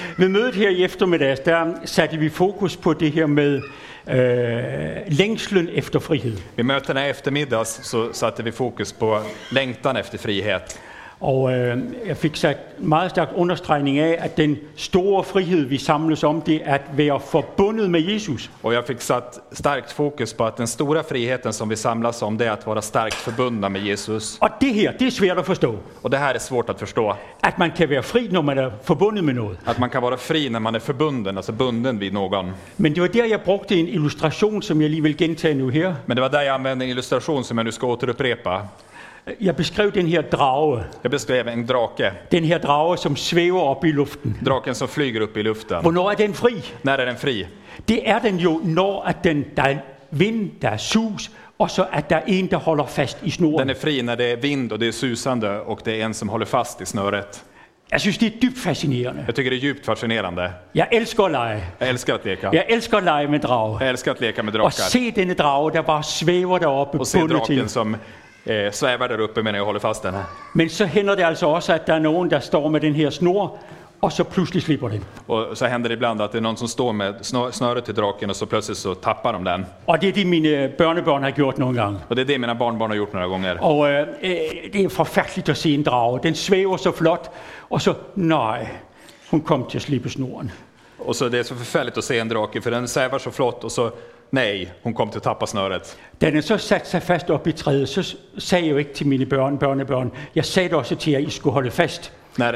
Ved mødet her i eftermiddags, der satte vi fokus på det her med längslen efter frihed. Vid mötena i eftermiddags så satte vi fokus på längtan efter frihet. Og jeg fik sat meget stærk understregning af, at den store frihed, vi samles om, det er at være forbundet med Jesus. Och jag fick satt starkt fokus på att den stora friheten som vi samlas om, det är att vara starkt förbundna med Jesus. Og det her, det er svært at forstå. Och det här är svårt att förstå. At man kan være fri, når man er forbundet med noget. Att man kan vara fri när man är förbunden, alltså bunden vid någon. Men det var der, jeg brugte en illustration, som jeg lige vil gentage nu her. Men det var där jag använde en illustration som jag nu ska återupprepa. Jeg beskrev den her drage. Jag beskrev en drake. Den her drage, som svæver op i luften. Draken som flyger upp i luften. Hvornår er den fri? När är den fri? Det er den jo, når at der er vind, der er sus, og så at der er en, der holder fast i snoren. Den är fri när det är vind och det är susande och det är en som håller fast i snöret. Jeg synes, det er dybt fascinerende. Jag tycker det är djupt fascinerande. Jeg elsker at lege. Jag älskar att leka. Jeg elsker at lege med drage. Jag älskar att leka med Og drakar. se denne drage, der bare svæver deroppe Och se bundet draken til. som svävar där uppe medan jag håller fast den. Men så hænder det altså også, at der er nogen, der står med den her snor, og så pludselig slipper den. Och så händer det ibland att det är någon som står med snöret till draken och så plötsligt så tappar de den. Og det er det, mine børnebørn har gjort nogle gange. Och det är det mina barnbarn har gjort några gånger. Og det er forfærdeligt at se en drage. Den svæver så flot, og så, nej, hun kom til at slippe snoren. Och så det är så förfärligt att se en drake för den svävar så flott och så nej, hon kom till att tappa snöret. Da den så satte sig fast op i træet, så sagde jeg jo ikke til mine børnebørn. Jeg sagde det også til jer, I skulle holde fast.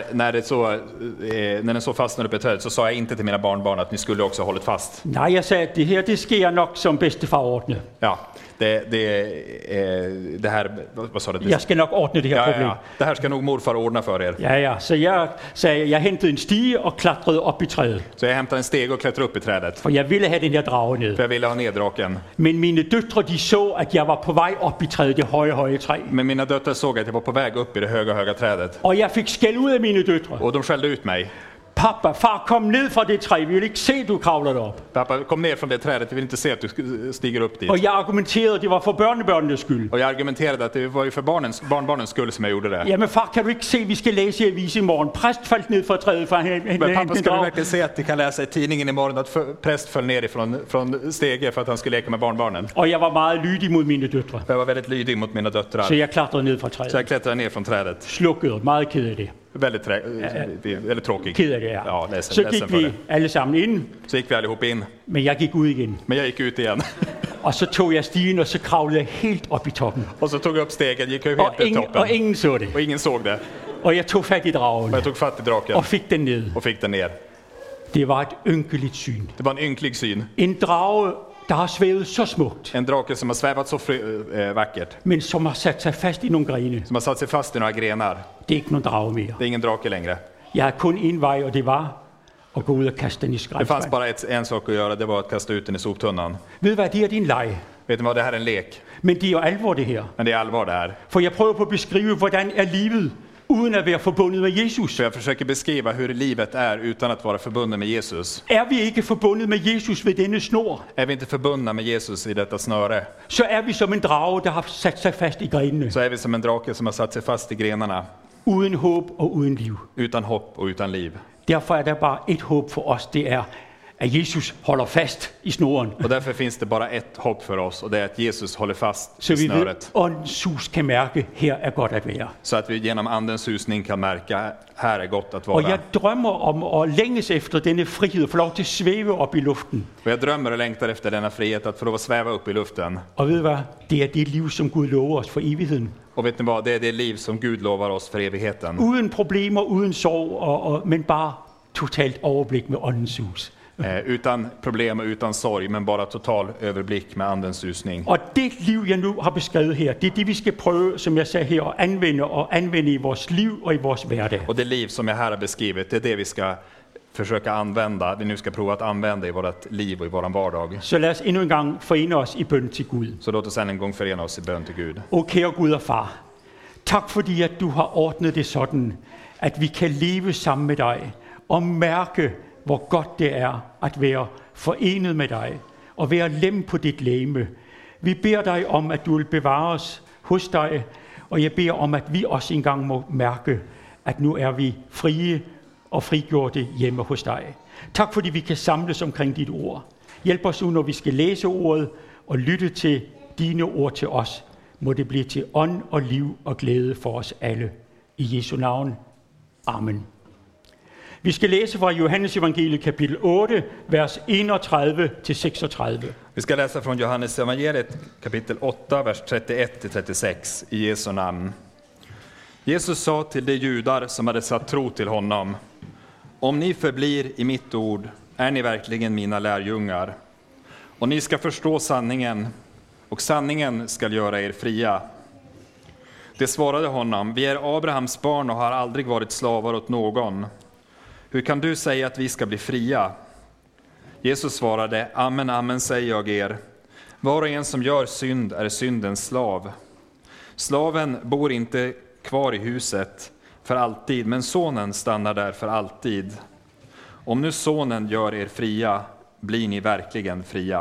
När den så fastnade på ett träd så sa jag inte till mina barnbarn att ni skulle också ha hållit fast. Nej, jeg sagde, at det her, det sker nok som bedstefar ordne. Ja, det här, vad sa du? Jeg skal nok ordne det her problem. Ja. Det här ska nog morfar ordna för er. Ja, så jeg sagde, jeg hentede en stige og klatrede op i træet. Så jag hämtade en steg och klättrade upp i trädet. For jeg ville have den her drage ned. För jag ville ha ner draken. Men mine døtre, de så, at jeg var på vej op i træet, det høje træ. Men mina döttrar såg att jag var på väg upp i det höga trädet. Og jeg fik skæld ud af mine døtre. Och de skällde ut mig. Pappa, far, kom ned fra det træ. Vi vil ikke se, du kravler derop. Pappa, kom ner från det trädet. Vi vill inte se att du stiger upp dit. Og jeg argumenterede, at det var for børnebørnenes skyld. Och jag argumenterade att det var ju för barnbarnens skull som jag gjorde det. Jamen far, kan du ikke se, vi skal læse i avisen i morgen. Præst faldt ned fra træet, for han Men pappa, ska du verkligen se att vi kan läsa i tidningen imorgon att präst föll ner från stege för att han skulle leka med barnbarnen? Og jeg var meget lydig mod mine døtre. Jag var väldigt lydig mot mina döttrar. Så jeg klatrede ned fra træet. Så jag klättrade ner från trädet. Slukket, meget ked af det. Väldigt tråkig. Ked af det, ja. Ja, ledsen, Så ledsen gik för vi det. alle sammen ind, Så gick vi allihop in. men jeg gik ud igen. Men jag gick ut igen. Og så tog jeg stigen, og så kravlede jeg helt op i toppen. Och så tog jag upp stegen, gick jag Og helt till toppen. ingen så det. Och ingen såg det. Og jeg tog fat i dragen Och jag tog fatt i draken og fik den ned. och fick den ner. Det var et ynkeligt syn. Det var en ynklig syn. En drage, der har svævet så smukt, En drake som har svävat så vackert. men som har sat sig fast i nogle grene. Som har satt sig fast i några grenar. Det er ikke nogen drage mere. Det är ingen drake längre. Jeg har kun en vej, og det var at gå ud og kaste den i Det fanns skraldespand. bara en sak att göra, det var att kasta ut den i soptunnan. Ved du hvad, det er din leg. Vet ni vad, det här är en lek. Men det er jo alvor det her. Men det är allvar det här. For jeg prøver på at beskrive, hvordan er livet, uden at være forbundet med Jesus. Så jag försöker beskriva hur livet är utan att vara förbunden med Jesus. Er vi ikke forbundet med Jesus ved denne snor, Är vi inte förbundna med Jesus i detta snöre, så er vi som en drage, der har sat sig fast i grenene. så är vi som en drake som har satt sig fast i grenarna. Uden håb og uden liv. Utan hopp och utan liv. Derfor er der bare et håb for os, det er, at Jesus holder fast i snoren. Och därför finns det bara ett hopp för oss, och det är att Jesus håller fast Så i vi ved, snöret. åndens sus kan mærke, her er godt at være. Så att vi genom andens susning kan märka, här är gott att Og vara. jeg drømmer om at længes efter denne frihed, og få lov til at svæve op i luften. Och jag drömmer och längtar efter denna frihet, att få lov att sväva upp i luften. Og ved du hvad? Det er det liv, som Gud lover os for evigheden. Och vet ni vad, det är det liv som Gud lovar oss för evigheten. Uden problemer, uden sorg, men bare totalt overblik med åndens sus. Utan problem och utan sorg, men bara total överblick med andens susning. Og det liv, jeg nu har beskrevet her, det er det, vi skal prøve, som jeg sagde her, at anvende i vores liv og i vores hverdag. Och det liv som jag här har beskrivit, det är det vi ska försöka använda. Vi nu ska prova att använda i vårt liv och i våran vardag. Så lad os endnu en gang forene os i bøn til Gud. Så låt oss än en gång förena oss i bön till Gud. O kære Gud og far, tak fordi at du har ordnet det sådan, at vi kan leve sammen med dig og mærke, hvor godt det er at være forenet med dig og være lem på dit legeme. Vi beder dig om, at du vil bevare os hos dig, og jeg beder om, at vi også engang må mærke, at nu er vi frie og frigjort det hjemme hos dig. Tak fordi vi kan samles omkring dit ord. Hjælp os nu, når vi skal læse ordet og lytte til dine ord til os. Må det blive til ånd og liv og glæde for os alle. I Jesu navn. Amen. Vi skal læse fra Johannes evangeliet kapitel 8, vers 31-36. Vi ska läsa från Johannes evangeliet kapitel 8, vers 31-36 i Jesu namn. Jesus sa till de judar som hade satt tro till honom: om ni förblir i mitt ord är ni verkligen mina lärjungar. Och ni ska förstå sanningen, och sanningen ska göra er fria. Det svarade honom: vi är Abrahams barn och har aldrig varit slavar åt någon. Hur kan du säga att vi ska bli fria? Jesus svarade: amen, amen säger jag er. Var och en som gör synd är syndens slav. Slaven bor inte kvar i huset för alltid, men sonen stannar där för alltid. Om nu sonen gör er fria, blir ni verkligen fria.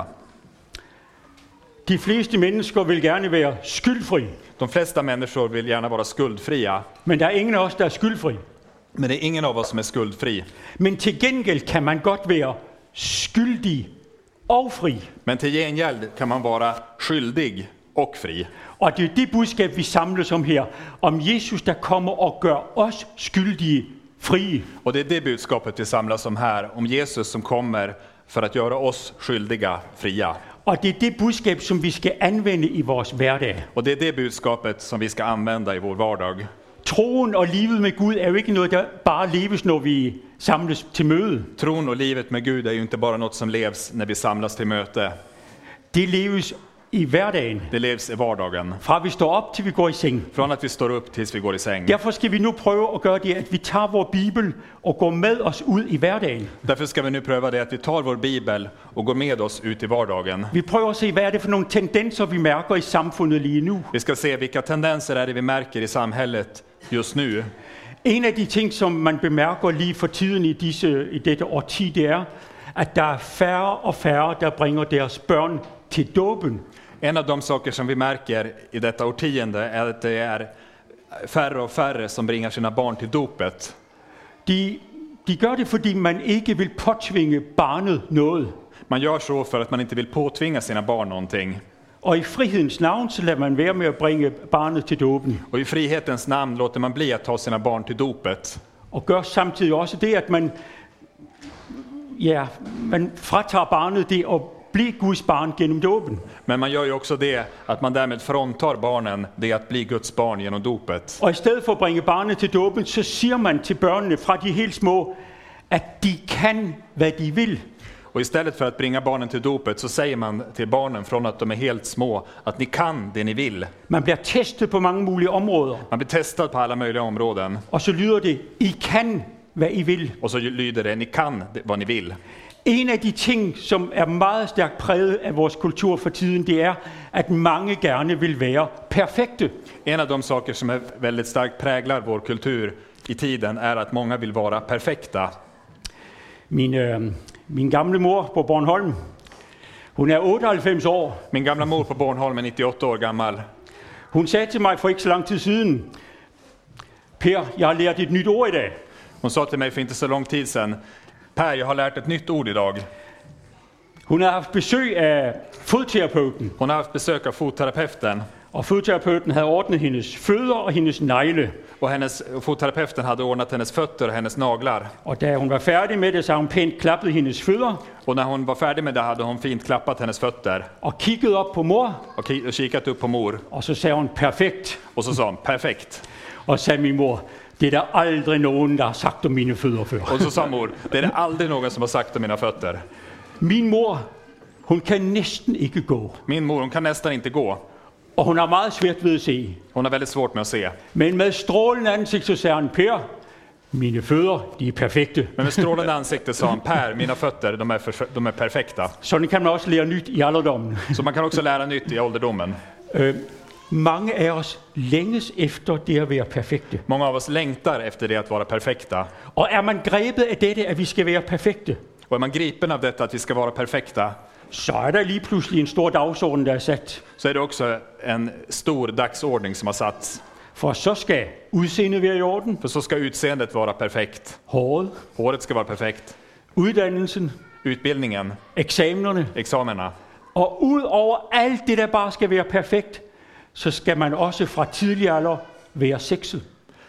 De fleste mennesker vil gerne være skyldfri, De flesta människor vill gärna vara skuldfria, men der er ingen af os, der er skyldfri. men det är ingen av oss som är skuldfri. Men til gengæld kan man godt være skyldig og fri. Men till gengäld kan man vara skyldig och fri. Og det er det budskab, vi samles om her. Om Jesus, der kommer og gør os skyldige frie. Och det är det budskapet vi samlas om här, om Jesus som kommer för att göra oss skyldiga fria. Og det er det budskab, som vi skal anvende i vores hverdag. Och det är det budskapet som vi ska använda i vår vardag. Troen og livet med Gud er jo ikke noget, der bare leves, når vi samles til møde. Tron och livet med Gud är ju inte bara något som levs när vi samlas till möte. Det leves i hverdagen. Det levs i vardagen. Fra vi står op, til vi går i seng. Från att vi står upp tills vi går i säng. Derfor skal vi nu prøve at gøre det, at vi tager vores Bibel og går med os ud i hverdagen. Därför ska vi nu pröva det att vi tar vår bibel och går med oss ut i vardagen. Vi prøver at se, hvad er det for nogle tendenser, vi mærker i samfundet lige nu. Vi ska se vilka tendenser är det vi märker i samhället just nu. En af de ting, som man bemærker lige for tiden i dette årti, det er, at der er færre og færre, der bringer deres børn til dåben. En av de saker som vi märker i detta årtionde är att det är färre och färre som bringar sina barn till dopet. De gør det, fordi man ikke vil påtvinge barnet noget. Man gör så för att man inte vill påtvinga sina barn någonting. Og i frihedens navn, så lader man være med at bringe barnet til dåben. Och i frihetens namn låter man bli att ta sina barn till dopet. Og gør samtidig også det, at man fratager barnet det at blive Guds barn gennem dåben. Men man gör ju också det att man därmed fråntar barnen det att bli Guds barn genom dopet. Og i stedet for at bringe barnet til dåben, så siger man til børnene fra de helt små, at de kan, hvad de vil. Och istället för att bringa barnen till dopet så säger man till barnen från att de är helt små att ni kan det ni vill. Man bliver testet på mange mulige områder. Man blir testad på alla möjliga områden. Og så lyder det, I kan, hvad I vil. Och så lyder det, ni kan vad ni vill. En af de ting, som er meget stærkt præget af vores kultur for tiden, det er, at mange gerne vil være perfekte. En av de saker som är väldigt starkt präglar vår kultur i tiden är att många vill vara perfekta. Min gamle mor på Bornholm, hun er 98 år. Min gamla mor på Bornholm är 98 år gammal. Hun sagde til mig for ikke så lang tid siden, Per, jeg har lært et nyt ord i dag. Hon sa till mig för inte så lång tid sedan: Per, jag har lärt ett nytt ord idag. Hun har haft besøg af fodterapeuten. Hon har haft besök av fotterapeuten. Og fodterapeuten havde ordnet hendes fødder og hendes negle. Och fotterapeuten hade ordnat hennes fötter och hennes naglar. Og da hun var færdig med det, så hun pænt klappet hendes fødder. Och när hon var färdig med det hade hon fint klappat hennes fötter. Og kiggede op på mor. Och kikat upp på mor. Og så sagde hun, perfekt. Och så sa hon, perfekt. Og sagde min mor, det er der aldrig nogen, der har sagt om mine fødder før. Och så sa mor, det är det aldrig någon som har sagt om mina fötter. Min mor, hun kan næsten ikke gå. Min mor, hon kan nästan inte gå. Og hun har meget svært ved at se. Hon har väldigt svårt med att se. Men med strålende ansigt, så sagde han, Per, mine fødder, de er perfekte. Men med strålande ansikte sa han, Per, mina fötter, de är perfekta. Sådan kan man også lære nyt i alderdommen. Så man kan också lära nytt i ålderdomen. Mange af os længes efter det at være perfekte. Många av oss längtar efter det att vara perfekta. Og er man grebet af dette, at vi skal være perfekte, Och är man gripen av detta att vi ska vara perfekta, så er der lige pludselig en stor dagsorden, der er sat. så är det också en stor dagsordning som har satts. For så skal udseendet være i orden, För så ska utseendet vara perfekt. håret, Håret ska vara perfekt. uddannelsen, Utbildningen, eksamenerne. examina. Og ud over alt det, der bare skal være perfekt, så skal man også fra tidlig alder være sexet.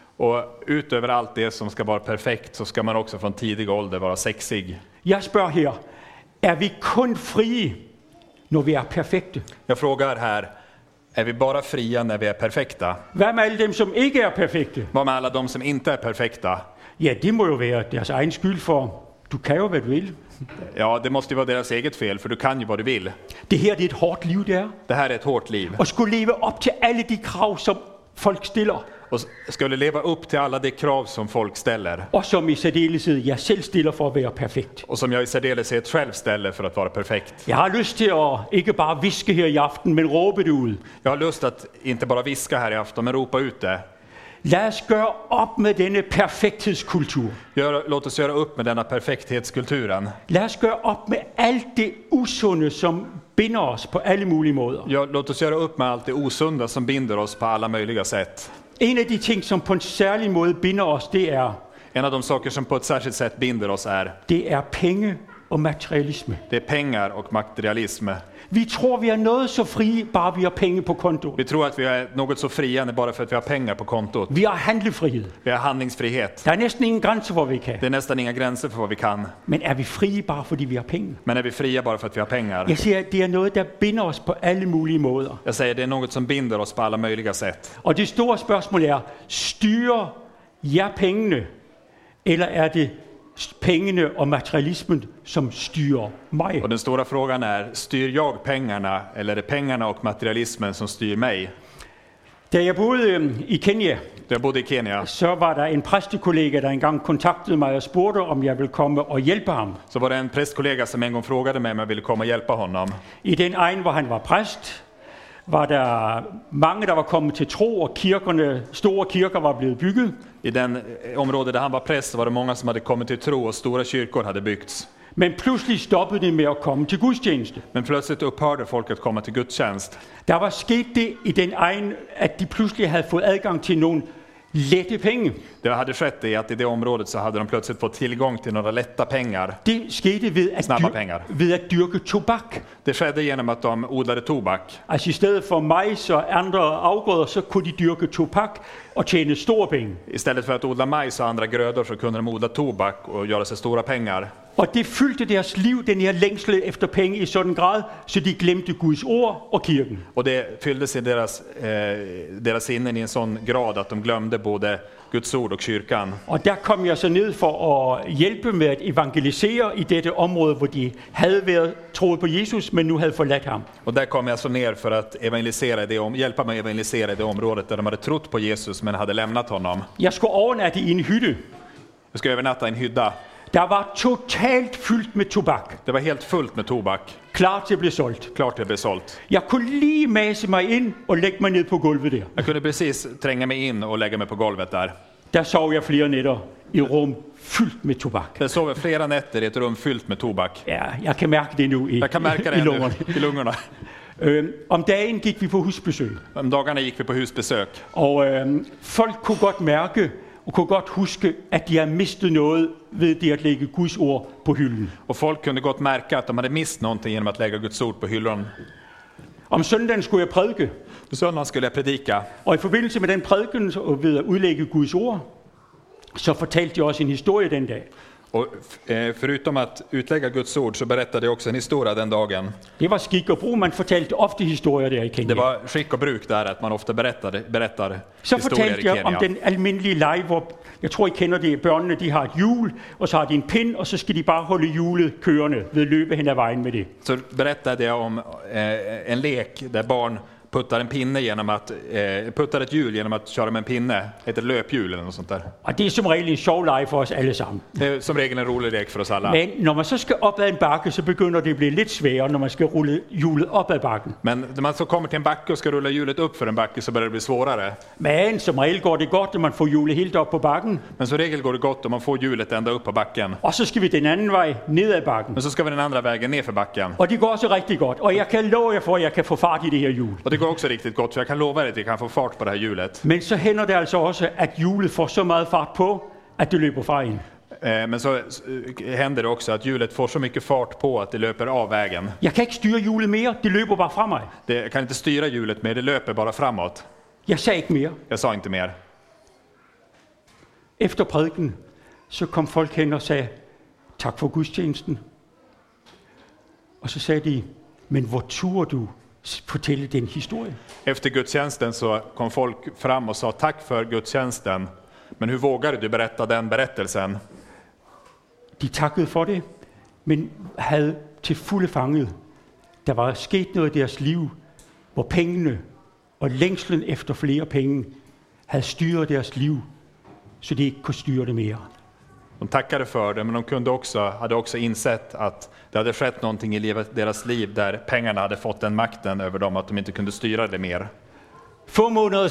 Och utöver allt det som ska vara perfekt så ska man också från tidig ålder vara sexig. Jeg spørger her, er vi kun frie, når vi er perfekte? Jag frågar här, är vi bara fria när vi är perfekta? Hvad med alle dem, som ikke er perfekte? Vad med alla de som inte är perfekta? Ja, det må jo være deres egen skyld, for du kan jo, hvad du vil. Ja, det måste ju vara deras eget fel, för du kan ju vad du vill. Det her det er et hårdt liv, det er. Det här är ett hårt liv. Og skulle leve op til alle de krav, som folk stiller. Och skulle leva upp till alla de krav som folk ställer. Og som i særdeleshed jeg selv stiller for at være perfekt. Och som jag i särdeleshet själv ställer för att vara perfekt. Jeg har lyst til at ikke bare viske her i aften, men råbe det ud. Jag har lust att inte bara viska här i afton, men ropa ut det. Lad os gøre op med denne perfekthedskultur. Låt oss göra upp med denna perfekthetskulturen. Lad os gøre op med alt det usunde, som binder os på alle mulige måder. Ja, låt oss göra upp med allt det osunda som binder oss på alla möjliga sätt. En af de ting, som på en særlig måde binder os, det En av de saker som på ett särskilt sätt binder oss er penge og materialisme. det är pengar och materialism. Vi tror, vi er noget så frie, bare vi har penge på kontoen. Vi tror att vi är något så friande bara för att vi har pengar på kontot. Vi har handlefrihed. Vi har handlingsfrihet. Der er næsten ingen grænser, hvor vi kan. Det är nästan inga gränser för vad vi kan. Men er vi frie, bare fordi vi har penge? Men är vi fria bara för att vi har pengar? Jeg siger, at det er noget, der binder os på alle mulige måder. Jag säger det är något som binder oss på alla möjliga sätt. Og det store spørgsmål er, styrer jeg pengene, eller er det pengene og materialismen, som styrer mig? Och den stora frågan är, styr jag pengarna eller är det pengarna och materialismen som styr mig? Da jeg boede i Kenya, Jag bodde i Kenya. så var der en præstekollega, der engang kontaktede mig og spurgte, om jeg ville komme og hjælpe ham. Så var det en prästkollega som en gång frågade mig om jag ville komma och hjälpa honom. I den egen, hvor han var præst, var der mange, der var kommet til tro, og store kirker var blevet bygget. I den område där han var präst var det många som hade kommit till tro och stora kyrkor hade byggts. Men pludselig stoppede det med at komme til gudstjeneste. Men plötsligt upphörde folk att komma till gudstjänst. Der var sket det i den egen, at de pludselig havde fået adgang til nogle lette penge. Det hade skett i att i det området så hade de plötsligt fått tillgång till några lätta pengar. Det skete Snabba pengar. ved at dyrke tobak. Det skedde genom att de odlade tobak. Altså i stedet for majs og andre afgrøder, så kunne de dyrke tobak og tjene store penge. Istället för att odla majs och andra grödor så kunde de odla tobak och göra sig stora pengar. Og det fyldte deres liv, den her længsel efter penge i sådan grad, så de glemte Guds ord og kirken. Och det fylldes i deras sinnen i en sån grad att de glömde både Guds ord och kyrkan. Og der kom jeg så ned for at hjælpe med at evangelisere i dette område, hvor de havde været troet på Jesus, men nu havde forladt ham. Och där kom jag så ner för att hjälpa mig evangelisera i det området där de hade trott på Jesus men hade lämnat honom. Jeg skulle overnatte i en hytte. Jag ska övernatta i en hydda. Der var totalt fyldt med tobak. Det var helt fullt med tobak. Klar til at blive solgt. Klart det blev sålt. Jeg kunne lige mase mig ind og lægge mig ned på gulvet der. Jag kunde precis tränga mig in och lägga mig på golvet där. Der sov jeg flere nætter i rum fyldt med tobak. Jag sov flera nätter i ett rum fyllt med tobak. Ja, jeg kan mærke det nu i lungerne. I lungorna. Om dagen gik vi på husbesøg. Om dagarna gick vi på husbesök. Og folk kunne godt mærke og kunne godt huske, at de har mistet noget ved det at lægge Guds ord på hylden. Och folk kunde gott märka att de hade mist någonting genom att lägga Guds ord på hyllan. Om søndagen skulle jeg prædike. På söndagen skulle jag predika. Og i forbindelse med den prædiken og ved at udlægge Guds ord, så fortalte de også en historie den dag. Och förutom att utlägga Guds ord så berättade jag också en historia den dagen. Det var skik og brug, man fortalte ofte historier der i Kenya. Det var skick och bruk där att man ofta berättar Så historier fortalte i jeg om Kenya. den almindelige leg, hvor jeg tror I kender det, børnene de har et hjul, og så har de en pind, og så skal de bare holde hjulet kørende ved at løbe hen ad vejen med det. Så berättade jag om en lek där barn puttar en pinne genom att puttar ett hjul genom att köra med en pinne, ett löphjul eller något sånt där. Og det er som regel en sjov leg for os alle sammen. Det är som regel en rolig lek för oss alla. Men når man så skal op ad en bakke, så begynder det at blive lidt sværere, når man skal rulle hjulet op ad bakken. Men när man så kommer till en backe och ska rulla hjulet upp för en backe så börjar det bli svårare. Men som regel går det godt, når man får hjulet helt op på bakken. Men som regel går det gott om man får hjulet ända upp på backen. Og så skal vi den anden vej ned ad bakken. Men så ska vi den andra vägen ner för backen. Og det går også rigtig godt. Og jeg kan love jer for, at jeg kan få fart i det her hjul. Och det det går också riktigt gott, för jag kan lova dig att vi kan få fart på det här hjulet. Men så händer det alltså också att hjulet får så meget fart på att det löper fra en. Men så händer det också att hjulet får så mycket fart på att det löper av vägen. Jag kan inte styra hjulet mer, det löper bara fra mig. Jag kan inte styra hjulet mer, det löper bara framåt. Jag sa inte mer. Jag sa inte mer. Efter prædiken så kom folk hen och sa tack för gudstjänsten. Och så sa de, men hvor turde du fortælle den historie? Efter gudstjänsten så kom folk fram och sa tack för gudstjänsten. Men hur vågade du berätta den berättelsen? De takkede for det, men havde til fulde fanget. Der var sket noget i deres liv, hvor pengene og længslen efter flere penge havde styret deres liv, så de ikke kunne styre det mere. De tackade för det, men de hade också insett att det hade skett någonting i deras liv där pengarna hade fått den makten över dem att de inte kunde styra det mer. Få måneder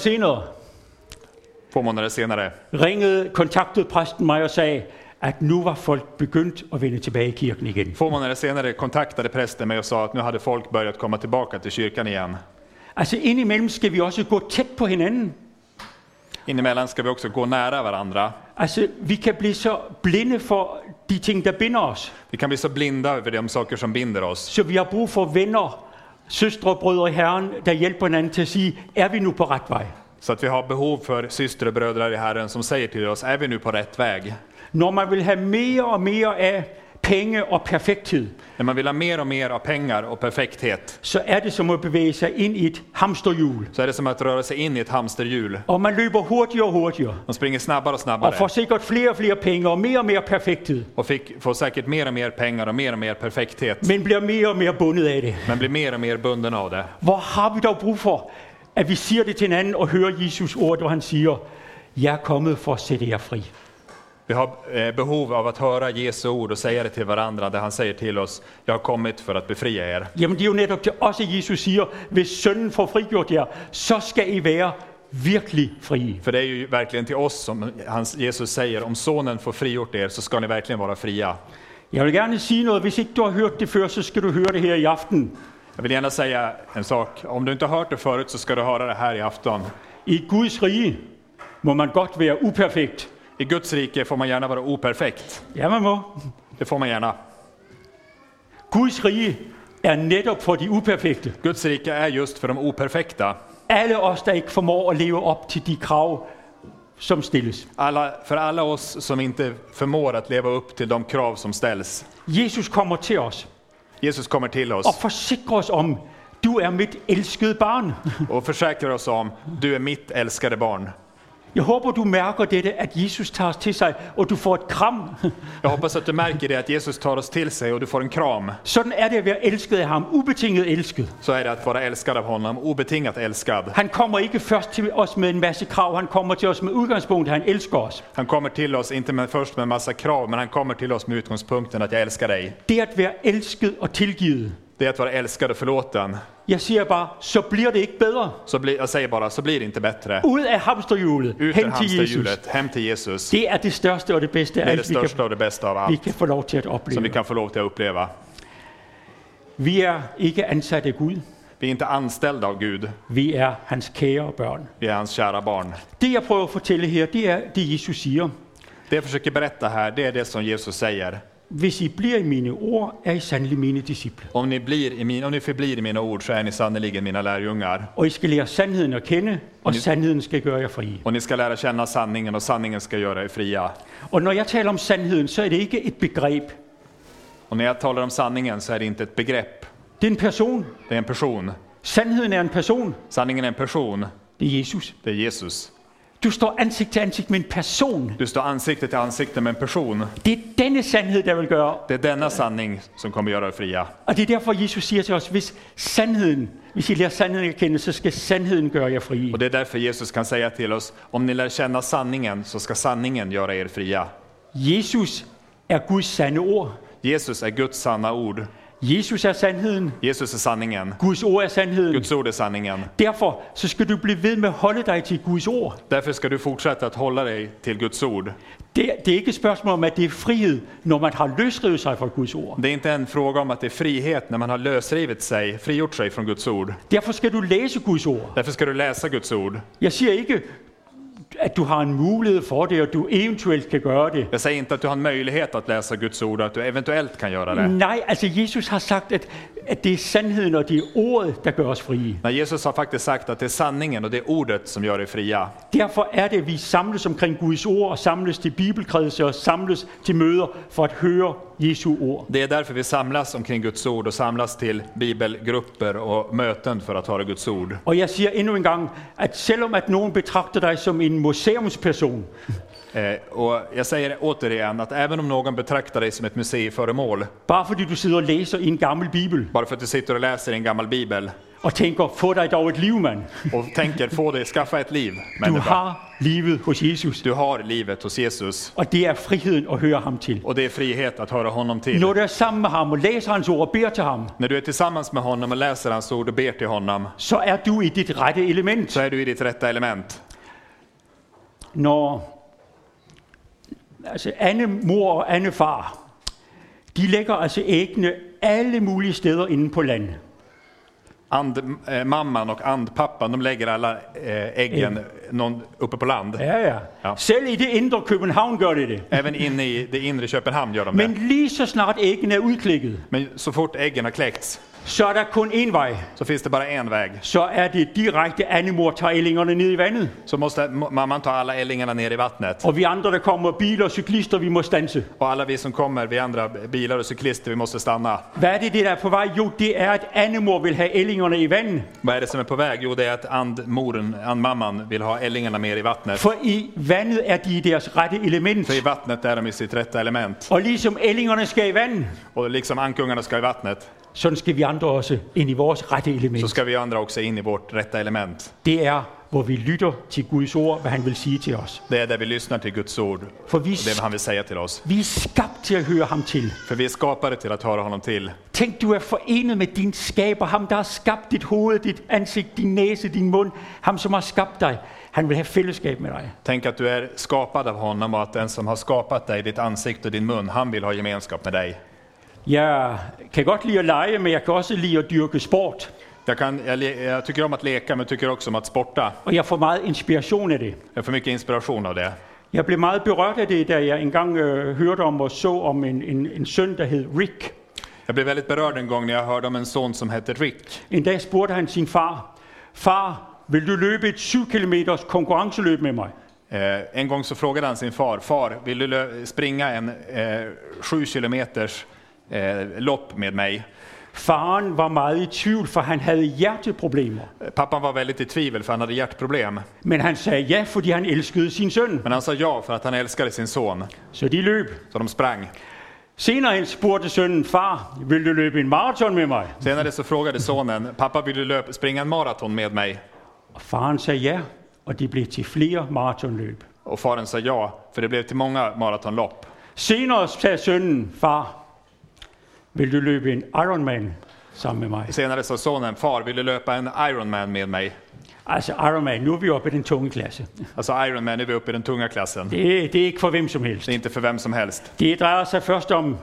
senare kontaktede præsten mig og sagde, at nu var folk begyndt at vende tilbage i kirken igen. Få månader senare kontaktade prästen mig och sa att nu hade folk börjat komma tillbaka till kyrkan igen. Altså indimellem skal vi også gå tæt på hinanden. Inemellan ska vi också gå nära varandra. Altså vi kan blive så blinde for de ting, der binder os. Vi kan bli så blinda över de saker som binder oss. Så vi har brug for venner, søstre og brødre i Herren, der hjælper hinanden til at sige, er vi nu på ret vej? Så att vi har behov för systrar och bröder i Herren som säger till oss, är vi nu på rätt väg? Når man vil have mere og mere af penge og perfekthed, När man vill ha mer och mer av pengar och perfekthet, så er det som at bevæge sig ind i et hamsterhjul. så är det som att röra sig in i ett hamsterhjul. Og man løber hurtigere og hurtigere, De springer snabbare och og snabbare får sikkert flere og flere penge og mere perfekthed, och får säkert mer och mer pengar och mer perfekthet, men bliver mere og mere bundet af det. men blir mer och mer bunden av det. Hvor har vi dog brug for, at vi siger det til hinanden og hører Jesus ord, hvor han siger, jeg er kommet for at sætte jer fri. Vi har behov av att höra Jesu ord och säga det till varandra, där han säger till oss, jag har kommit för att befria er. Jamen det er jo netop det også Jesus siger, hvis sønnen får frigjort jer, så skal I være virkelig frie. För det är ju verkligen till oss som Jesus säger, om sonen får frigjort er så ska ni verkligen vara fria. Jeg vil gerne sige noget, hvis ikke du har hørt det før, så skal du høre det her i aften. Jag vill gärna säga en sak, om du inte har hört det förut så ska du höra det här i afton. I Guds rige må man godt være uperfekt. I Guds rike får man gärna vara operfekt. Ja, man må. Det får man gärna. Guds rige er netop for de uperfekte. Guds rike är just för de operfekta. Alle os, der ikke formår at leve op til de krav, som stilles. För alla oss som inte förmår att leva upp till de krav som ställs. Jesus kommer til os Jesus kommer till og oss forsikrer os om, du er mit elskede barn. och försäkrar oss om, du är mitt älskade barn. Jeg håber, du mærker dette, at Jesus tager os til sig, og du får et kram. Jag hoppas att du märker det, att Jesus tar oss till sig och du får en kram. Sådan er det at være elsket af ham, ubetinget elsket. Så är det att vara älskad av honom, obetingat älskad. Han kommer ikke først til os med en masse krav, han kommer til os med udgangspunkt, han elsker os. Han kommer till oss, inte först med en massa krav, men han kommer till oss med utgångspunkten att jag älskar dig. Det at være elsket og tilgivet. Det är att vara älskad och förlåten. Jeg siger bare, så bliver det ikke bedre. Jag säger bara, så blir det inte bättre. Ud af hamsterhjulet, Ut ur hen til Jesus. hamsterhjulet, hem till Jesus. Det er det største og det bedste, Det är det alt, största och det bästa av vi allt kan få lov til at som vi opleve. kan få lov till att uppleva. Vi er ikke ansat af Gud. Vi är inte anställda av Gud, Vi er hans kære børn. vi är hans kära barn. Det jeg prøver at fortælle her, det er det Jesus siger. Det jag försöker berätta här, det är det som Jesus säger. Hvis I bliver i mine ord, er I sandelig mine disciple. Om ni förblir i mina ord så är ni sannoliken mina lärjungar. Og I skal lære sandheden at kende, og sandheden skal gøre jer frie. Och ni ska lära känna sanningen och sanningen ska göra er fria. Og når jeg taler om sandheden, så er det ikke et begreb. Och när jag talar om sanningen så är det inte ett begrepp. Det er en person. Det är en person. Sandheden er en person. Sanningen är en person. Det er Jesus. Det är Jesus. Du står ansigt til ansigt med en person. Du står ansikte till ansikte med en person. Det er denne sandhed, der vil gøre. Det är denna sanning som kommer göra er fria. Og det er derfor, Jesus siger til os, hvis I lærer sandheden at kende, så skal sandheden gøre jer frie. Och det är därför Jesus kan säga till oss, om ni lär känna sanningen så ska sanningen göra er fria. Jesus er Guds sande ord. Jesus är Guds sanna ord. Jesus är sandheden. Jesus är sanningen. Guds ord är sandheden. Guds ord är sanningen. Derfor så skal du blive ved med at holde dig til Guds ord. Därför ska du fortsätta att hålla dig till Guds ord. Det er ikke et spørgsmål om, at det er frihed, når man har løsrevet sig fra Guds ord. Det är inte en fråga om att det är frihet när man har frigjort sig från Guds ord. Derfor skal du læse Guds ord. Därför ska du läsa Guds ord. Jeg siger ikke, at du har en mulighed for det, og du eventuelt kan gøre det. Jag säger inte att du har en möjlighet att läsa Guds ord och att du eventuellt kan göra det. Nej, altså Jesus har sagt, at det er sandheden, og det er ordet, der gør os frie. Nej, Jesus har faktiskt sagt att det är sanningen och det är ordet som gör dig fria. Derfor er det, at vi samles omkring Guds ord, og samles til bibelkredse, og samles til møder, for at høre Jesu ord. Det är därför vi samlas omkring Guds ord och samlas till bibelgrupper och möten för att höra Guds ord. Og jeg siger endnu en gang, at selvom at nogen betragter dig som en museumsperson, Och jag säger återigen att även om någon betraktar dig som ett museiföremål, bare fordi du sidder og læser i en gammel bibel, bara för att du sitter och läser i en gammal bibel og tænker, få dig dog et liv, mand. och tänker skaffa ett liv, Du människa. har livet hos Jesus, Du har livet hos Jesus og det er friheden at høre ham til. och det är frihet att höra honom till. Når du er sammen med ham og læser hans ord og beder til ham, När du är tillsammans med honom och läser hans ord och ber till honom, så er du i dit rette element. så är du i ditt rätta element. Når altså Anne mor og Anne far, de lægger altså æggene alle mulige steder inde på land. Mamman och andpappan, de lägger alla äggen uppe på land. Ja. Selv i det indre København gør det det. Även inne i det inre Köpenhamn gör de det. Men lige så snart æggene er udklækket, Men så fort äggen har kläckts så er der kun én vej. så finns det bara en väg. Så er det direkte, Anne mor tager ællingerne ned i vandet. Så måste mamman ta alla ällingarna ner i vattnet. Og vi andre, der kommer, biler og cyklister, vi må stanse. Och alla vi som kommer, vi andra bilar och cyklister, vi måste stanna. Hvad er det, der er på vej? Jo, det er, at Anne mor vil have ællingerne i vandet. Vad är det som är på väg? Jo, det är att andmamman vill ha ällingarna mer i vattnet. For i vandet er de i deres rette element. För i vattnet är de i sitt rätta element. Og ligesom ællingerne skal i vand, Och liksom ankungarna ska i vattnet, sådan skal vi andre også ind i vores rette så element. ska vi andra också in i vårt rätta element. Det er, hvor vi lytter til Guds ord, hvad han vil sige til os. Det är där vi lyssnar till Guds ord For och det han vill säga till oss. vi er skabt til at høre ham til. För vi är skapade till att höra honom till. Tænk, du er forenet med din skaber, ham der har skabt dit hoved, dit ansigt, din næse, din mund, ham som har skabt dig. Han vil have fællesskab med dig. Tänk att du är skapad av honom och att den som har skapat dig, ditt ansikte och din mun, han vill ha gemenskap med dig. Jeg kan godt lide at lege, men jeg kan også lide at dyrke sport. Jag tycker om att leka, men tycker också om att sporta. Og jeg får meget inspiration af det. Jag får mycket inspiration av det. Jeg blev meget berørt af det, da jeg engang hørte om og så om en søn, der hed Rick. Jag blev väldigt berörd en gång när jag hörde om en son som hette Rick. En dag spurgte han sin far, far, vil du løbe et 7 kilometers konkurrenceløb med mig? En gång så frågade han sin far, vill du springa en 7 kilometers lopp med mig? Faren var meget i tvivl, for han havde hjerteproblemer. Pappan var väldigt i tvivel för han hade hjärtproblem. Men han sagde ja, fordi han elskede sin søn. Men han sa ja för att han älskade sin son. Så de løb. Så de sprang. Senere hen spurgte sønnen, far, vil du løbe en maraton med mig? Senare så frågade sonen, pappa, vill du springa en maraton med mig? Og faren sagde ja, og det blev til flere maratonløb. Och faren sa ja, för det blev till många maratonlopp. Senere sagde sønnen, far, vil du løbe en Ironman sammen med mig? Senare sa sonen, far, vill du löpa en Ironman med mig? Altså Ironman, nu er vi oppe i den tunge klasse. Alltså Ironman är vi uppe i den tunga klassen. Det er ikke for hvem som helst. Det är inte för vem som helst. Det drejer sig først om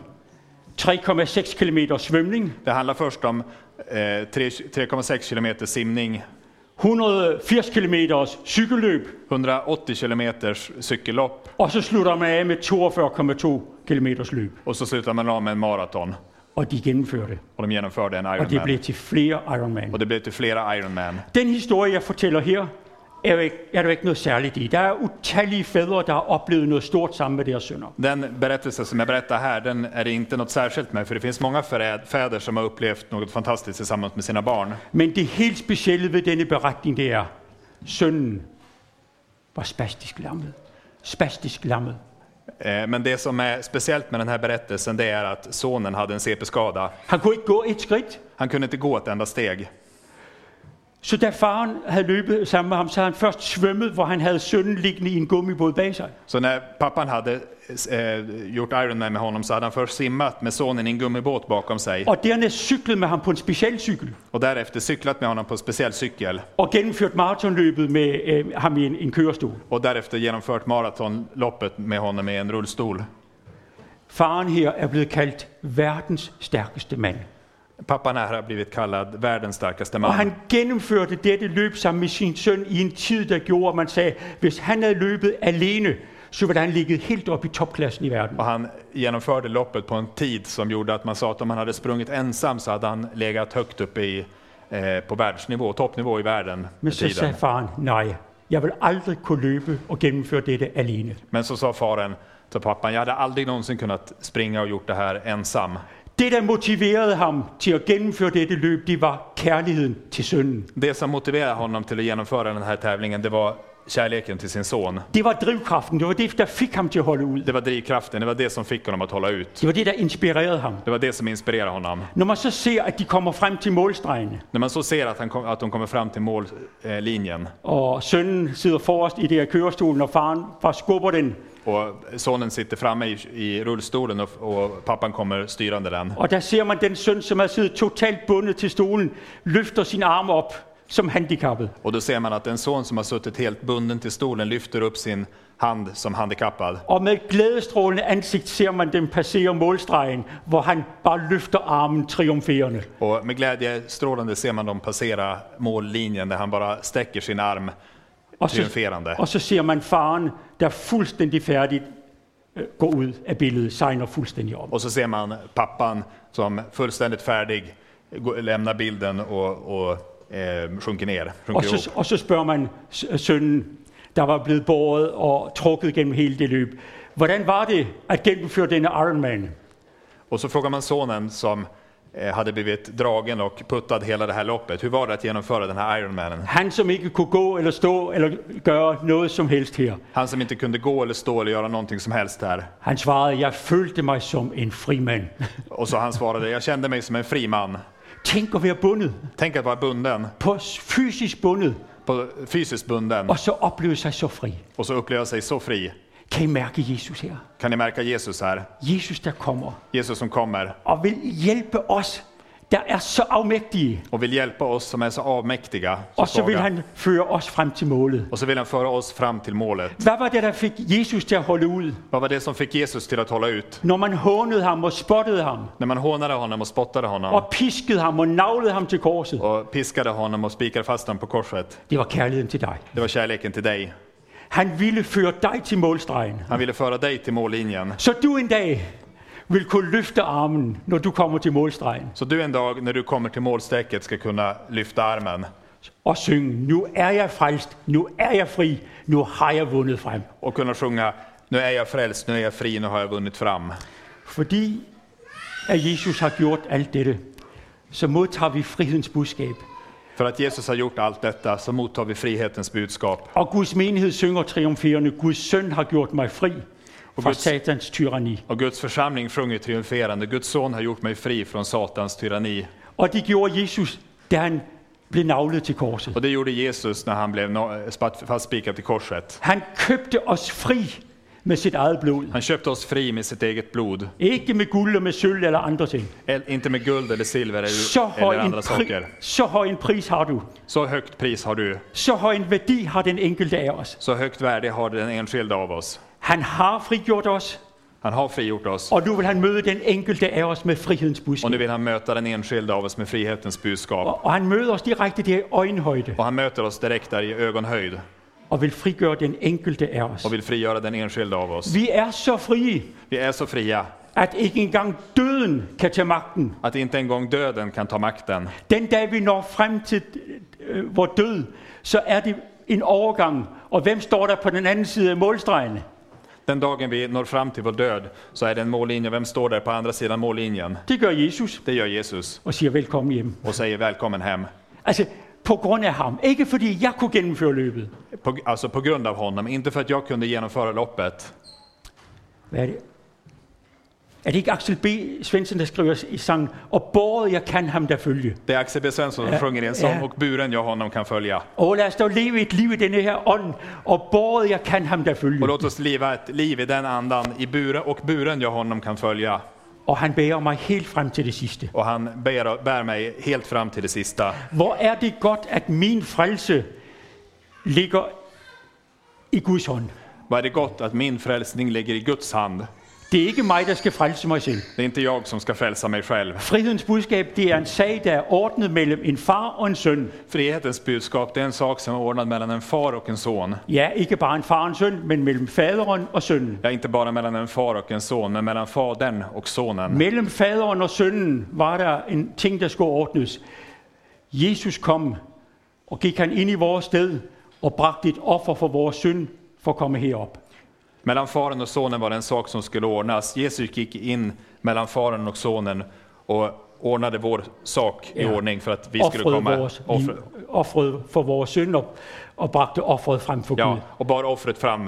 3,6 kilometer svømning, Det handlar först om 3,6 kilometer simning, 180 kilometers cykelløb, 180 kilometers cykellopp og så slutter man af med 42,2 kilometers løb. och så slutar man av med en maraton. Og de gennemførte det. Och de genomförde en Og det Ironman. blev til flere Ironman. Och det blev till flera Ironman. Den historie, jeg fortæller her, er der ikke noget særligt i. Der er utallige fædre, der har oplevet noget stort sammen med deres sønner. Den berättelse som jag berättar här, den är det inte något särskilt med, för det finns många fäder som har upplevt något fantastiskt tillsammans med sina barn. Men det helt specielle ved denne beretning, det er, sønnen var spastisk lammet. Spastisk lammet. Men det som är speciellt med den här berättelsen, det är att sonen hade en CP-skada. Han kunne ikke gå et skridt. Han kunde inte gå ett enda steg. Så da faren havde løbet sammen med ham, så havde han først svømmet, hvor han havde sønnen liggende i en gummibåd bag sig. Så när pappan hade gjort Ironman med honom så hade han först simmat med sonen i en gummibåt bakom sig. Og dernæst cyklet med ham på en specialcykel. Och därefter cyklat med honom på en speciell cykel. Og gennemført maratonløbet med ham i en kørestol. Och därefter genomfört maratonloppet med honom i en rullstol. Faren her er blevet kaldt verdens stærkeste mand. Pappan här har blivit kallad världens starkaste Og man. han gennemførte dette løb sammen med sin søn i en tid, der gjorde, at man sagde, hvis han havde løbet alene, så ville han ligget helt op i topklassen i verden. Och han genomförde loppet på en tid som gjorde att man sa att om han hade sprungit ensam så hade han legat högt uppe på världsnivå, toppnivå i världen Men med så tiden. sagde faren, nej, jeg vil aldrig kunne løbe og gennemføre dette alene. Men så sa faren till pappan, jag hade aldrig någonsin kunnat springa och gjort det här ensam. Det, der motiverede ham til at gennemføre dette løb, det var kærligheden til sønnen. Det som motiverade honom till att genomföra den här tävlingen, det var kärleken till sin son. Det var drivkraften, det var det, der fik ham til at holde ud. Det var drivkraften, det var det som fick honom att hålla ut. Det var det, der inspirerede ham. Det var det som inspirerade honom. Når man så ser, at de kommer frem til målstregen, När man så ser att de kommer fram till mållinjen og sønnen sidder forrest i det her kørestolen, og faren bare skubber den, och sonen sitter framme i rullstolen och pappan kommer styrande den. og der ser man den søn, som har siddet totalt bundet til stolen, løfter sin arm op som handicappet. Och då ser man att en son som har suttit helt bunden till stolen lyfter upp sin hand som handikappad. Og med et glædestrålende ansigt ser man dem passere målstregen, hvor han bare løfter armen triumferende. Och med glädje strålande ser man dem passera mållinjen där han bara sträcker sin arm triumferande. Og så ser man faren, der fuldstændig færdigt går ud af billedet, segner fuldstændig om. Och så ser man pappan som fullständigt färdig lämnar bilden och sjunker ner. Og så spørger man sønnen, der var blevet båret og trukket gennem hele det løb, hvordan var det at gennemføre denne Ironman? Och så frågar man sonen som hade blivit dragen och puttad hela det här loppet. Hur var det att genomföra den här Ironmanen? Han som ikke kunne gå eller stå eller gøre noget som helst her. Han som inte kunde gå eller stå eller göra någonting som helst här. Han svarede, jeg følte mig som en fri mand. Och så han svarade, jag kände mig som en fri man. Tænk at være bundet, Tänk att vara bunden, på fysisk bundet, fysiskt bunden, og så opleve sig så fri. och så uppleva sig så fri. Kan I mærke Jesus her? Kan ni märka Jesus här? Jesus, der kommer Jesus som kommer og vil hjælpe os, der er så afmægtige. och vill hjälpa oss som är så avmäktiga, så Og så vil svaga. han føre os frem til målet. Och så vill han föra oss fram till målet. Hvad var det, der fik Jesus til at holde ud? Vad var det som fick Jesus till att hålla ut? Når man hånede ham og spottede ham, När man hånade honom och spottade honom og piskede ham og naglede ham til korset. och piskade honom och spikade fast honom på korset. Det var kærligheden til dig. Det var kärleken till dig. Han ville føre dig til målstregen, Han ville föra dig till mållinjen. så du en dag vil kunne løfte armen, når du kommer til målstregen, Så du en dag när du kommer till målsträcket ska kunna lyfta armen og synge, nu er jeg frelst, nu er jeg fri, nu har jeg vundet frem. och kunna sjunga, nu är jag frälst, nu är jag fri, nu har jag vunnit fram. Fordi at Jesus har gjort alt dette, så modtager vi frihedens budskab. För att Jesus har gjort allt detta så mottar vi frihetens budskap. Og Guds menighed synger triumferende, Guds søn har gjort mig fri fra Guds- satans tyranni. Och Guds församling sjunger triumferande, Guds son har gjort mig fri från Satans tyranni. Og det gjorde Jesus, da han blev naglet til korset. Och det gjorde Jesus när han blev fastspikad till korset. Han købte os fri med sit eget blod. Han köpte oss fri med sitt eget blod. Ikke med guld og med sølv eller andre ting. Inte med guld eller silver Så høj, eller andra saker. så høj en pris har du. Så högt pris har du. Så høj en værdi har den enkelte af os. Så högt värde har den enskilda av oss. Han har frigjort os, Han har frigjort oss. og nu vil han møde den enkelte af os med frihedens Och budskab. nu vill han möta den enskilda av oss med frihetens budskap. Og han møder os direkte der i øjenhøjde, Och han möter oss direkt där i ögonhöjd. og vil frigøre den enkelte af os. Och vill frigöra den enskilda av oss. Vi er så frie, Vi är så fria at ikke engang døden kan tage magten. att inte en gång döden kan ta makten. Den dag vi når frem til vor død, så er det en overgang. Og hvem står der på den anden side af målstregen? Den dagen vi når fram till vår död så är det en mållinje. Vem står där på andra sidan mållinjen? Det gør Jesus Det gör Jesus og siger velkommen hjem. och säger välkommen hem. Altså på grund af ham. Ikke fordi jeg kunne gennemføre løbet. Alltså på grund av honom, inte för att jag kunde genomföra loppet. Hvad er det? Er det ikke Axel B. Svensson, der skriver i sangen, og båret jeg kan ham der følge? Det är Axel B. Svensson som sjunger i en sång, och buren jag honom kan följa. Og lad os dog leve et liv i denne her ånd, og båret jeg kan ham der følge. Och låt oss leva ett liv i den andan, i buren jag honom kan följa. Og han bærer mig helt frem til det sidste. Och han bär mig helt fram till det sista. Hvor er det godt, at min frelse ligger i Guds hånd. Vad är det gott att min frälsning ligger i Guds hand. Det er ikke mig, der skal frelse mig selv. Det är inte jag som ska frälsa mig själv. Frihedens budskab, det er en sag, der er ordnet mellem en far og en søn. Frihetens budskap, det är en sak som är ordnad mellan en far och en son. Ja, ikke bare en far og en søn, men mellem faderen og sønnen. Ja, inte bara mellan en far och en son, men mellan fadern och sonen. Mellem faderen og sønnen var der en ting, der skulle ordnes. Jesus kom, og gik han ind i vores sted, og bragte et offer for vores synd, for at komme herop. Mellan faren och sonen var det en sak som skulle ordnas. Jesus gick in mellan faren och sonen och ordnade vår sak i ordning för att vi skulle komma. Offret for vores synd og bragte offret frem for Gud. Ja, och bar offret fram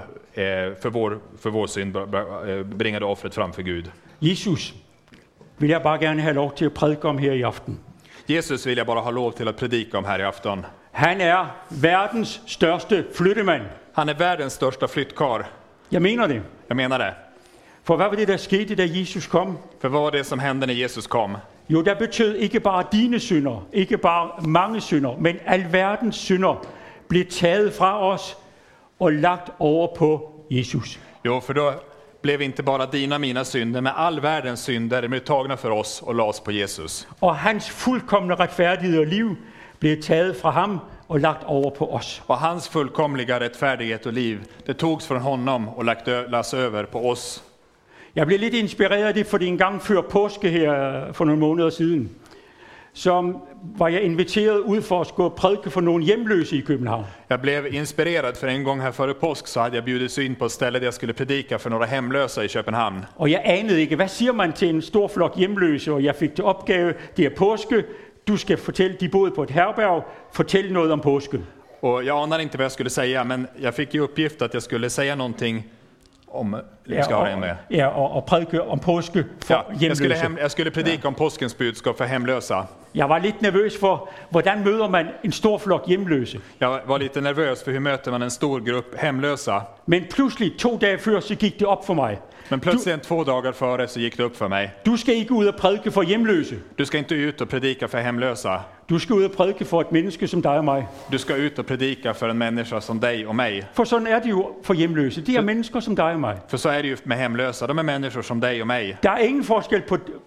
för vår synd, bringade offret fram för Gud. Jesus vil jeg bare gerne have lov til at prædike om her i aften. Jesus vill jag bara ha lov till att predika om här i afton. Han er verdens største flyttemand. Han är världens största flyttkarl. Jeg mener det. Jag menar det. For hvad var det, der skete, da Jesus kom? För vad var det som hände när Jesus kom? Jo, der betød ikke bare dine synder, ikke bare mange synder, men alverdens synder blev taget fra os og lagt over på Jesus. Jo, för då blev inte bara dina mina synder, men all världens synder blev tagna för oss och lades på Jesus. Og hans fuldkomne retfærdighed og liv blev taget fra ham och lagt over på oss. Och hans fullkomliga rättfärdighet och liv, det togs från honom och lades över på oss. Jeg blev lidt inspireret af det, fordi en gang før påske her for nogle måneder siden, så var jeg inviteret ud for at gå og prædike for nogle hjemløse i København. Jag blev inspirerad för en gång här före påsk så hade jag bjudits in på ett ställe där jag skulle predika för några hemlösa i Köpenhamn. Og jeg anede ikke, hvad siger man til en stor flok hjemløse, og jeg fik til opgave, det er påske, du ska fortælle, de boede på ett herberg, fortælle noget om påsken. Och jag anade inte vad jag skulle säga, men jag fick ju uppgift att jag skulle säga någonting om og prædike om påske for hjemløse. Jag skulle predika om påskens budskap för hemlösa. Jeg var lidt nervøs for, hvordan møder man en stor flok hjemløse. Jag var lite nervös för hur möter man en stor grupp hemlösa. Men pludselig 2 dage før, så gik det op for mig. Men plötsligt 2 dagar före så gick det upp för mig. Du ska ikke ud og prædike for hjemløse. Du ska inte ut och predika för hemlösa. Du ska ud og prædike for et menneske som dig og mig. Du ska ut och predika för en människa som dig och mig. For sådan er det jo for hjemløse. Det er mennesker som dig og mig. För så är det ju med hemlösa. De är människor som dig och mig. Der er ingen forskel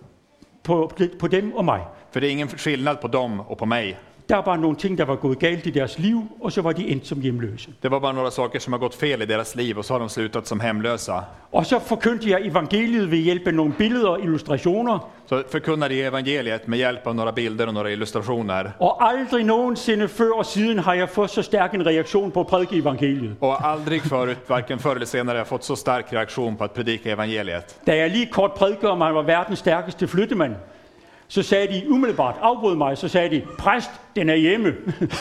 på dem og mig. För det är ingen skillnad på dem och på mig. Der er bare nogle ting, der var gået galt i deres liv, og så var de endt som hjemløse. Det var bara några saker som har gått fel i deras liv och så har de slutat som hemlösa. Og så forkyndte jeg evangeliet ved hjælp af nogle billeder og illustrationer. Så förkunnade jag evangeliet med hjälp av några bilder och några illustrationer. Og aldrig nogensinde før og siden har jeg fået så stærk en reaktion på at prædike evangeliet. Och aldrig förut, varken förr eller senare, har jag fått så stark reaktion på att predika evangeliet. Da jeg lige kort prædikede om, at han var verdens stærkeste flyttemand, så sagde de umiddelbart, afbrød mig, så sagde de, præst, den er hjemme.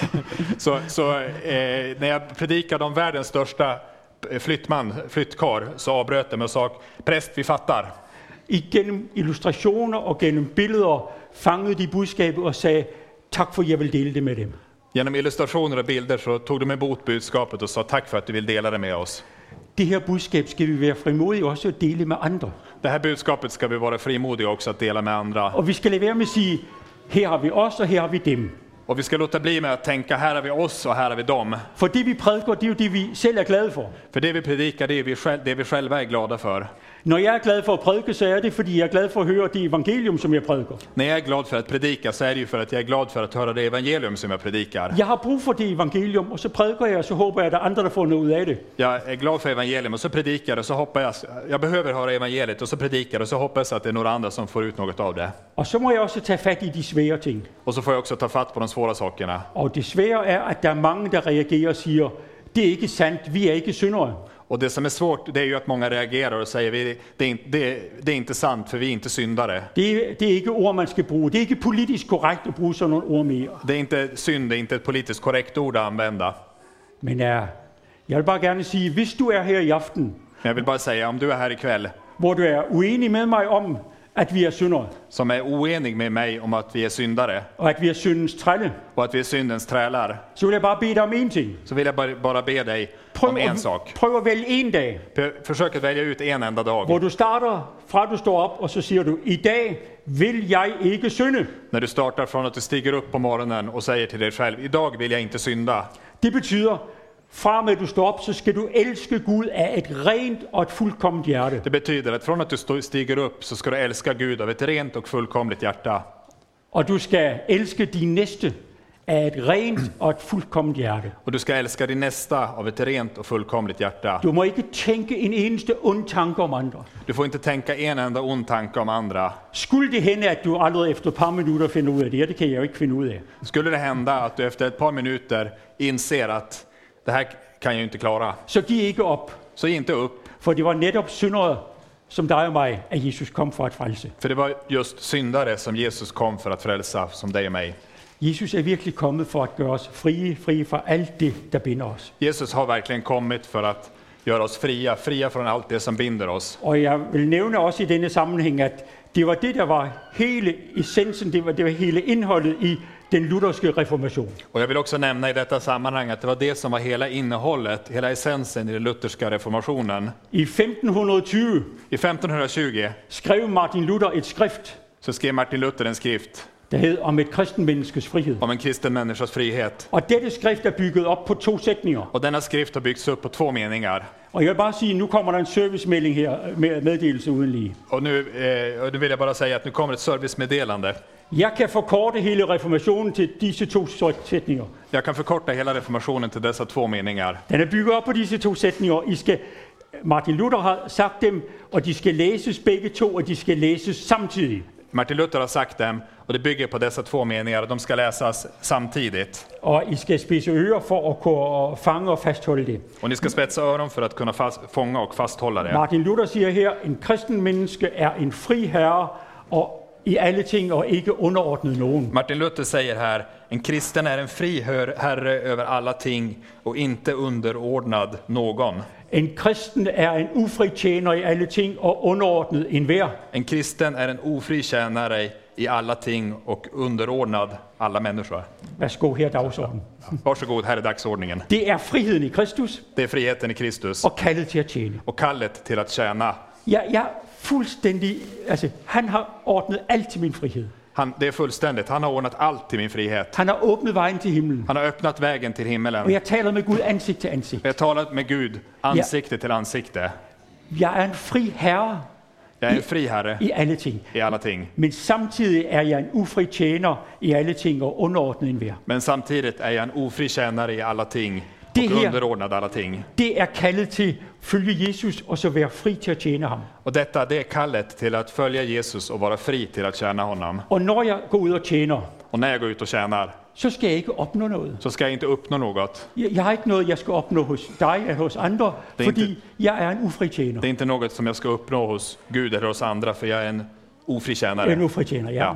När jag predikade om världens största flyttkar så avbröt de och sa, präst, vi fattar. Igennem illustrationer og gennem billeder fangede de budskabet og sagde, tak for, jeg vil dele det med dem. Genom illustrationer och bilder så tog de emot budskapet och sa, tack för att du vill dela det med oss. Det her budskab skal vi være frimodige også at dele med andre. Det här budskapet ska vi vara frimodiga också att dela med andra. Og vi skal lade være med at sige, her har vi os, og her har vi dem. Och vi ska låta bli med att tänka, här har vi oss och här har vi dem. For det vi prædiker, det er jo det vi selv er glade for. För det vi predikar, det är det vi själva är glada för. Når jeg er glad for at prædike, så er det fordi jeg er glad for at høre det evangelium som jeg prædiker. När jag är glad för att predika så är det ju för att jag är glad för att höra det evangelium som jag predikar. Jeg har brug for det evangelium, og så prædiker jeg, og så håber jeg at der er andre der får noget ud af det. Jag är glad för evangelium och så predikar och så hoppas jag behöver höra evangeliet och så predikar och så hoppas att det är några andra som får ut något av det. Og så må jeg også tage fat i de svære ting. Och så får jag också ta fatt på de svåra sakerna. Og det svære er at der er mange der reagerer og siger, det er ikke sandt, vi er ikke syndere. Och det som är svårt, det är ju att många reagerar och säger det är inte sant för vi är inte syndare. Det er ikke ord man skal bruge. Det er ikke politisk korrekt at bruge sådan nogle ord mere. Det är inte synd, det är inte ett politiskt korrekt ord att använda. Men jeg vil bare gerne sige, hvis du er her i aften, Men jag vill bara säga, om du är här ikväll hvor du er uenig med mig om, at vi er syndere, som är oenig med mig om att vi är syndare og at vi er syndens trælle, och att vi är syndens trälar, så vil jeg bare bede dig om en ting. så vill jag bara be dig om en sak. Prøv at vælge en dag, Försök att välja ut en enda hvor dag. du starter fra du står op, og så siger du, i dag vil jeg ikke synde. När du startar från att du stiger upp på morgonen och säger till dig själv, idag vill jag inte synda. Det betyder, fra med du står op, så skal du elske Gud af et rent og et fuldkomment hjerte. Det betyder att från att du stiger upp så ska du älska Gud av ett rent och fullkomligt hjärta. Og du skal elske din næste af et rent og et fuldkomment hjerte. Och du ska älska din nästa av ett rent och fullkomligt hjärta. Du må ikke tænke en eneste ond tanke om andre. Du får inte tänka en enda ond tanke om andra. Skulle det hende, at du allerede efter et par minutter finder ud af det, det kan jeg jo ikke finde ud af, Skulle det hända att du efter ett par minuter inser att det här kan jag ju inte klara, så giv ikke op, så ge inte upp. for det var netop syndere som dig og mig, at Jesus kom for at frelse. För det var just syndare som Jesus kom för att frälsa, som dig och mig. Jesus er virkelig kommet for at gøre os frie fra alt det, der binder os. Jesus har verkligen kommit för att göra oss fria från allt det som binder oss. Og jeg vil nævne også i denne sammenhæng, at det var det, der var hele essensen, det var hele indholdet i den lutherske reformation. Och jag vill också nämna i detta sammanhang att det var det som var hela innehållet, hela essensen i den lutherska reformationen. I 1520 I 1520 skrev Martin Luther et skrift, så skrev Martin Luther en skrift der hed om et kristen menneskes frihed. om en kristen människas frihet. Og dette skrift er bygget op på 2 sætninger. Och denna skrift har byggts upp på 2 meningar. Og jeg vil bare sige, nu kommer der en servicemelding her med meddelelse uden lige. Och nu vill jag bara säga att nu kommer ett servicemeddelande. Jeg kan forkorte hele reformationen til disse 2 sætninger. Jag kan förkorta hela reformationen till dessa 2 meningar. Den er bygget op på disse 2 sætninger. Martin Luther har sagt dem, og de skal læses begge 2, og de skal læses samtidig. Martin Luther har sagt dem, och det bygger på dessa 2 meningar. De ska läsas samtidigt. Og I skal spidse ører for at kunne fange og fastholde det. Och ni ska spetsa öron för att kunna fånga och fasthålla det. Martin Luther siger her, en kristen menneske er en fri herre og i alle ting og ikke underordnet nogen. Martin Luther säger här, en kristen är en fri herre över alla ting och inte underordnad någon. En kristen er en ufri tjener i alle ting og underordnet enhver. En kristen är en ofri tjänare i alla ting och underordnad alla människor. Værsgo, her er dagsordenen. Varsågod, här är dagsordningen. Det er friheden i Kristus Det är friheten i Kristus og kaldet til at tjene. och kallet till att tjäna. Jeg fuldstændig, altså han har ordnet alt til min frihed. Det är fullständigt. Han har ordnat allt till min frihet. Han har åbnet vejen til himlen. Han har öppnat vägen till Og himmelen. jeg taler med Gud ansigt til ansigt. Jag har talat med Gud ansikte till ansikte. Jeg er en fri herre Jag är en fri herre i alle ting. i alla ting. Men samtidig er jeg en ufri tjener i alle ting og underordnet enhver. Men samtidigt är jag en ofri tjänare i alla ting Det och här- underordnad alla ting. Det er kaldet til følge Jesus og så være fri til at tjene ham. Och detta, det är kallet till att följa Jesus och vara fri till att tjäna honom. Og når jeg går ud og tjener, Och när jag går ut och tjänar så skal jeg ikke opnå noget. så ska jag inte uppnå något. Jeg har ikke noget, jeg skal opnå hos dig eller hos andre, Det er fordi ikke- jeg er en ufri tjener. Det är inte något som jag ska uppnå hos Gud eller hos andra, för jag är en ofri Jeg er en tjänare. ufri tjener, ja.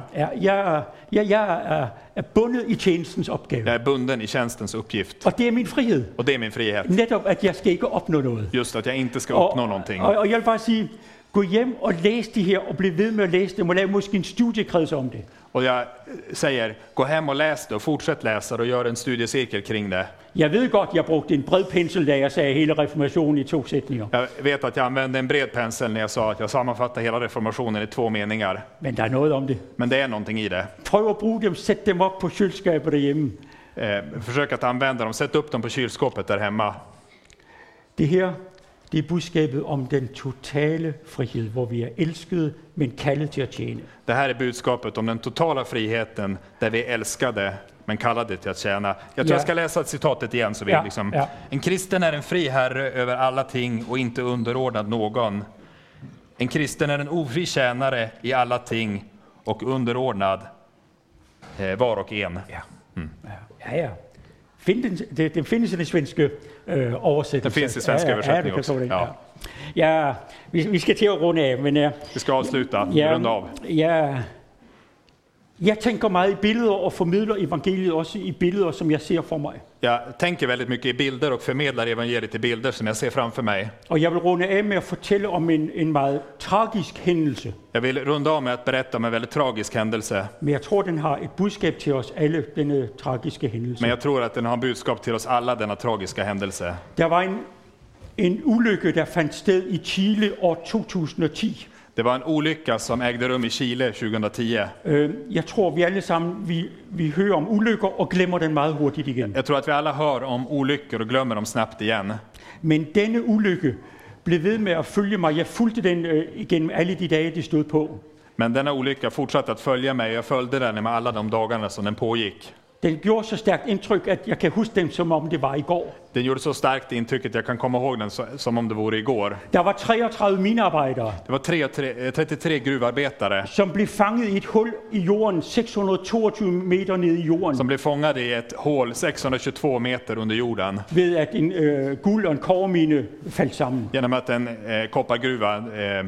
Jeg er bundet i tjenestens opgave. Jag är bunden i tjänstens uppgift. Og det er min frihed. Och det är min frihet. Netop, at jeg skal ikke opnå noget. Just att jag inte ska Og, uppnå någonting. og jeg vil bare sige, gå hjem og læs de her, og bliv ved med at læse dem, og lav måske en studiekreds om det. Och jag säger, gå hem och läs det och fortsätt läsa det och gör en studiecirkel kring det. Jeg ved godt, jeg brugte en bred pensel, da jeg sagde hele reformationen i 2 sætninger. Jag vet att jag använde en bred pensel när jag sa att jag sammanfattar hela reformationen i 2 meningar. Men der er noget om det. Men det är någonting i det. Prøv at bruge dem, sæt dem op på køleskabet derhjemme. Försök att använda dem, sätt upp dem på kylskåpet där hemma. Det her, det er budskabet om den totale frihed, hvor vi er elskede, men kaldet til at tjene. Det här är budskapet om den totala friheten där vi är älskade men kallade till att tjäna. Jag tror jag ska läsa citatet igen så vi liksom. Ja. En kristen är en fri herre över alla ting och inte underordnad någon. En kristen är en ofri tjänare i alla ting och underordnad var och en. Ja. Den findes i den svenske oversættelse. Den finns i svenska översättning också. Ja, vi skal til at runde af, men Vi ska avsluta, runda av. Jeg tænker meget i billeder og formidler evangeliet også i billeder, som jeg ser for mig. Jag tänker väldigt mycket i bilder och förmedlar evangeliet i bilder som jag ser framför mig. Og jeg vil runde af med at fortælle om en meget tragisk hændelse. Jag vill runda av med att berätta om en väldigt tragisk händelse. Men jeg tror, den har et budskab til os alle, denne tragiske hændelse. Men jag tror att den har budskap till oss alla, denna tragiska händelse. Der var en ulykke, der fandt sted i Chile år 2010. Det var en olycka som ägde rum i Chile 2010. Jeg tror, vi alle sammen vi hører om ulykker og glemmer den meget hurtigt igen. Jag tror att vi alla hör om olyckor och glömmer dem snabbt igen. Men denne ulykke blev ved med at følge mig. Jeg fulgte den igennem alle de dage, det stod på. Men denna olycka fortsatte att följa mig. Jag följde den med alla de dagarna som den pågick. Den gjorde så stærkt indtryk, at jeg kan huske den, som om det var i går. Den gjorde så starkt intryck att jag kan komma ihåg den som om det vore igår. Der var 33 minearbejdere, Det var 33 gruvarbetare som blev fanget i et hul i jorden, 622 meter ned i jorden, som blev fångade i ett hål 622 meter under jorden ved at en guld- og en kobbermine faldt sammen. genom att en koppargruva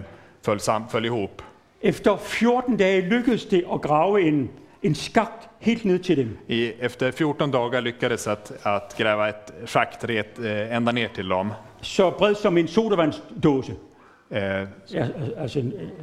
föll ihop. Efter 14 dage lykkedes det at grave en skakt helt ned til dem. Efter 14 dagar lyckades att gräva ett schakt ända ner till dem. Så bred som en sodavandsdåse. Ja, Altså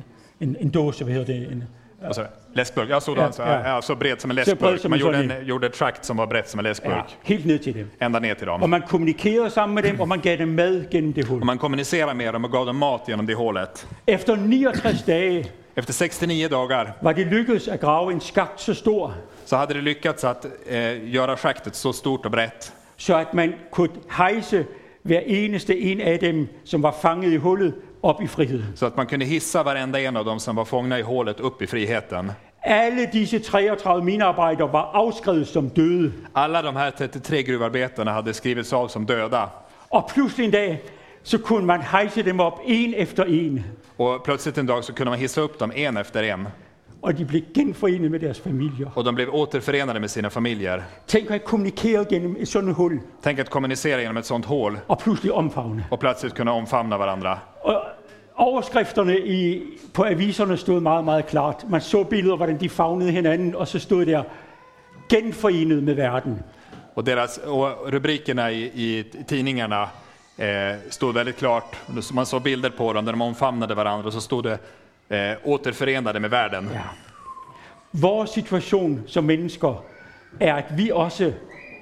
en dåse, hvad hedder det? alltså, läskburk. Ja, sådan, Ja. så bred som en Så bred läskburk. som Man en gjorde ett schakt som var brett som en Ja, läskburk. helt ned til dem. Ända ner till Og dem. man kommunikerede sammen med dem, og man gav dem mad gennem det hul. Och man kommunicerade med dem och gav dem mat genom det hålet. Efter 69 dage Efter 69 dagar var det lykkedes at grave en skakt så stor, så hade det lyckats att göra schaktet så stort och brett så at man kunne hejse hver eneste en af dem, som var fanget i hullet, op i friheden. så att man kunde hissa varenda en av dem som var fångna i hålet upp i friheten. Alle disse 33 minearbejdere var afskrevet som døde. Alla de här 33 gruvarbetarna hade skrivits av som döda. Og pludselig en dag, så kunne man hejse dem op en efter en. Och plötsligt en dag så kunde man hissa upp dem en efter en. Og de blev genforenet med deres familier. Och de blev återförenade med sina familjer. Tænk at kommunikere gennem et sådan hul, Tänk att kommunicera genom ett sånt hål og pludselig omfavne. och plötsligt kunna omfamna varandra. Og overskrifterne på aviserne stod meget, meget klart. Man så billeder, hvordan de favnede hinanden, og så stod der, genforenet med verden. Och rubrikerna i tidningarna stod väldigt klart. Man såg bilder på dem där de omfamnade varandra och så stod det återförenade med världen. Ja. Vores situation som mennesker er, at vi også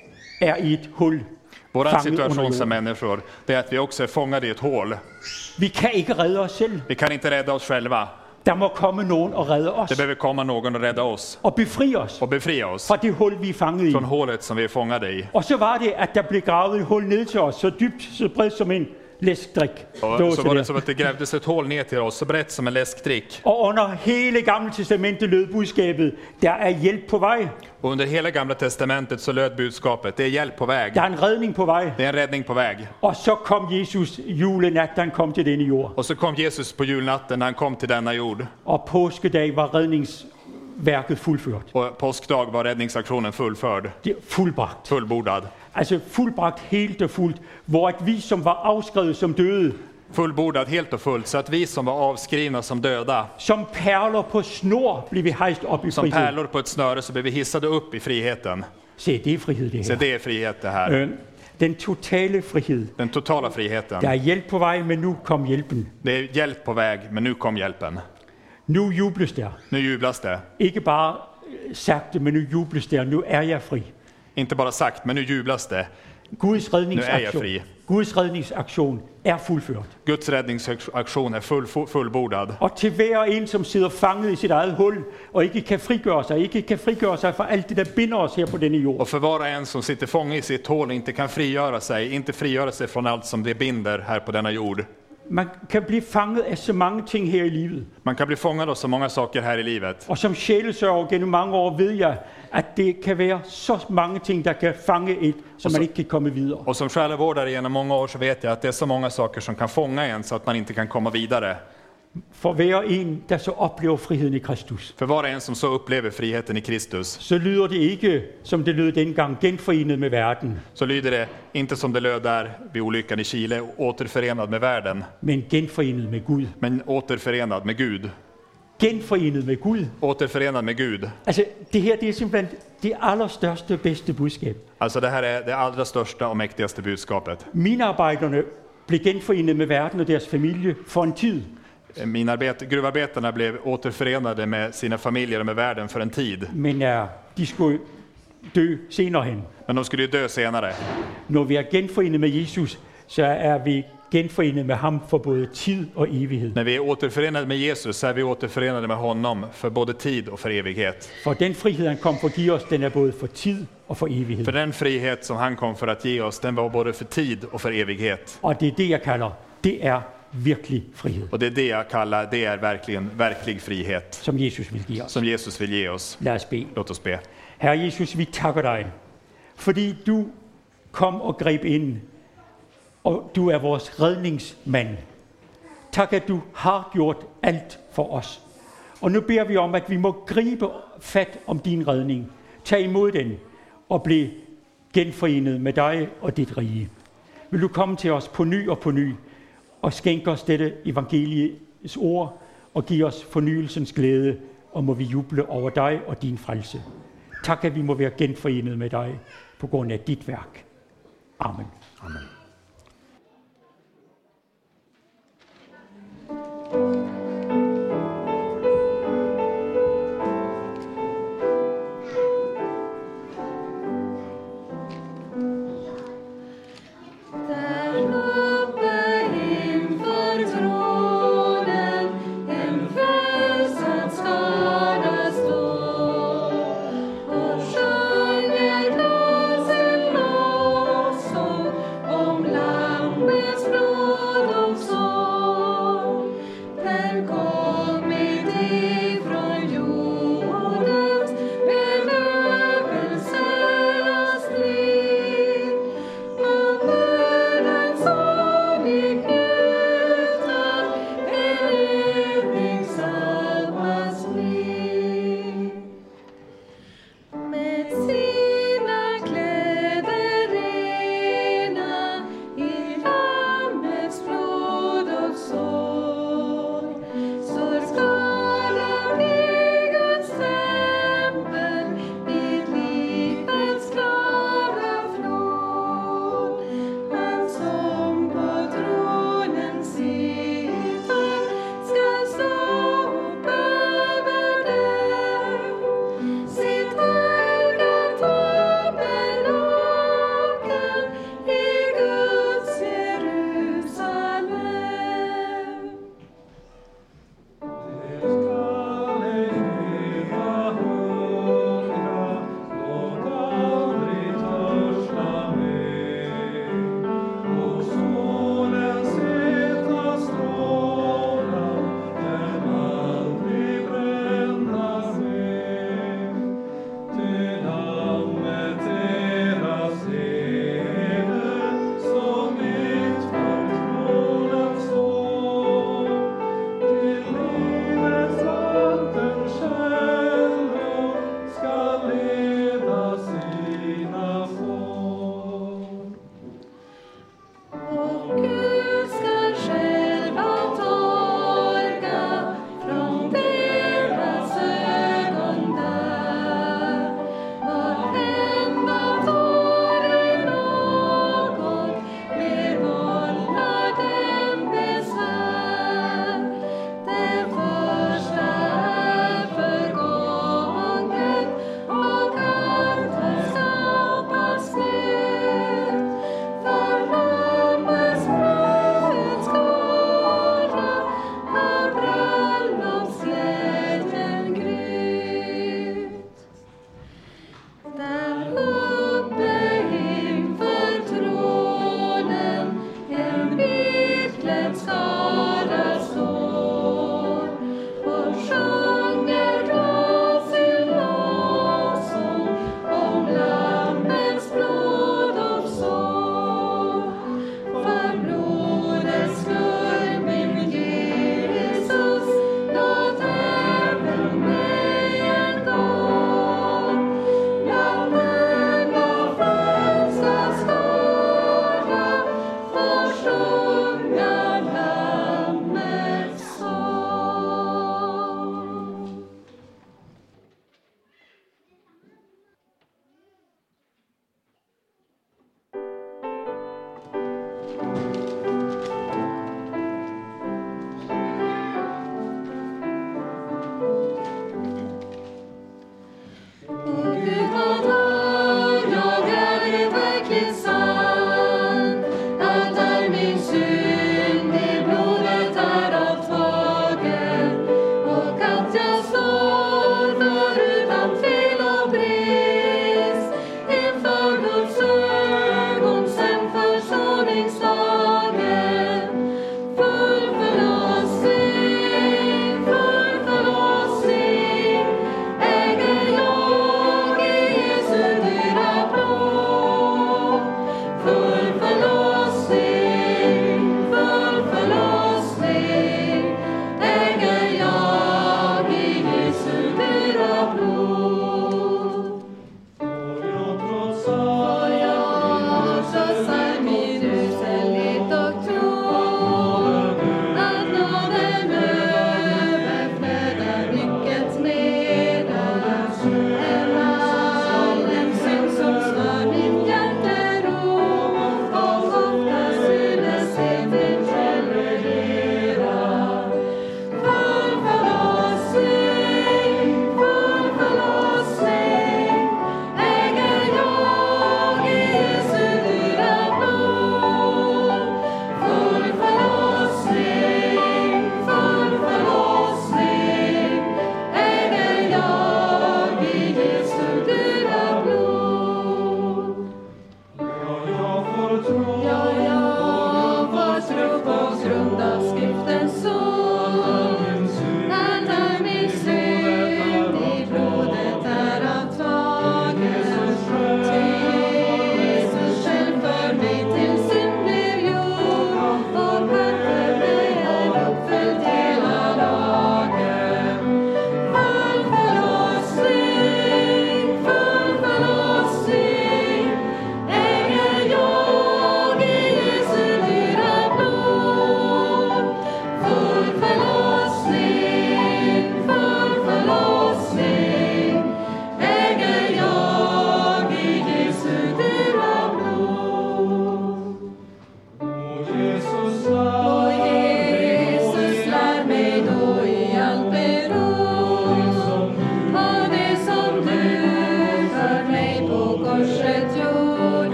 er i et hul. Vår fanget situation under som jorden. människor, det är att vi också är fångade i ett hål. Vi kan ikke redde os selv. Vi kan inte rädda oss själva. Der må komme nogen og redde os. Det behöver komma någon och rädda oss Og befri os och befria oss fra det hul, vi er fanget i. från hålet som vi är fångade i. Og så var det, at der blev gravet et hul ned til os, så dybt, så bredt som en læskdrik. Och så var det som att det grävdes ett hål ner till oss, så brett som en läskdrick. Og under hele Gamle Testamentet lød budskabet, der er hjælp på vej. Och under hela Gamla Testamentet så löd budskapet, det är hjälp på väg. Der er en redning på vej. Det är en räddning på väg. Og så kom Jesus julenat, da han kom til denne jord. Och så kom Jesus på julnatten när han kom till denna jord. Og påskedag var redningsværket fuldført. Och påskdag var räddningsaktionen fullförd, Det er fuldbragt. fullbordad. Altså fuldbragt helt og fuldt, hvor at vi, som var afskrevet som døde, Fullbordad helt och fullt, så att vi som var avskrivna som döda, som perler på snor, blev vi hejst op i som frihed. pärlor på ett snöre, så blev vi hissade upp i friheten. Se, det er frihed, det Så her. det är frihet det här. Den totale frihed. Den totala friheten. Der er hjælp på vej, men nu kom hjælpen. Det är hjälp på väg, men nu kom hjälpen. Nu jubles der. Nu jublas det. Ikke bare sagt det, men nu jubles der. Nu er jeg fri. Inte bara sagt, men nu jublas det. Guds Nu er jeg redningsaktion, fri. Guds redningsaktion er fuldført. Guds räddningsaktion är fullbordad. Og til hver en, som sidder fanget i sit eget hul, og ikke kan frigøre sig fra alt det, der binder os her på denne jord. Och för var och en som sitter fånge i sitt hål inte kan frigöra sig från allt som det binder här på denna jord. Man kan blive fanget af så mange ting her i livet. Man kan bli fångad av så många saker här i livet. Og som sjælesørger gennem mange år ved jeg, at det kan være så mange ting, der kan fange et, så man ikke kan komme videre. Och som själavårdare genom många år så vet jag att det är så många saker som kan fånga en så att man inte kan komma vidare. For hver en, der så oplever friheden i Kristus, För var och en som så upplever friheten i Kristus, så lyder det ikke, som det lød dengang, genforenet med verden, så lyder det inte som det löd där vid olyckan i Chile, återförenad med världen, men genforenet med Gud. men återförenad med Gud. genforenet med Gud. återförenad med Gud. Altså, det her, det er simpelthen det allerstørste og bedste budskab. Alltså det här är det allra största och mäktigaste budskapet. Minearbejderne blev genforenet med verden og deres familie for en tid. Gruvarbetarna blev återförenade med sina familjer och med världen för en tid. Men de skulle dø senere hen. Men de skulle ju dö senare. Når vi er genforenet med Jesus, så er vi genforenet med ham for både tid og evighed. När vi är återförenade med Jesus så är vi återförenade med honom för både tid och för evighet. For den frihed, han kom for at give os, den er både for tid og for evighed. För den frihet som han kom för att ge oss, den var både för tid och för evighet. Og det er det, jeg kalder, det er virkelig frihed, Och det är det jag kallar, det är verkligen verklig frihet som Jesus vil give os. som Jesus vill ge oss. Lad os bede. Låt oss be. Herre Jesus, vi takker dig, fordi du kom og greb ind, og du er vores redningsmand. Tak, at du har gjort alt for os. Og nu beder vi om, at vi må gribe fat om din redning, tage imod den og blive genforenet med dig og dit rige. Vil du komme til os på ny og skænke os dette evangeliets ord og give os fornyelsens glæde, og må vi juble over dig og din frelse. Tak, at vi må være genforenet med dig på grund af dit værk. Amen. Amen.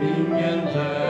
ingen där.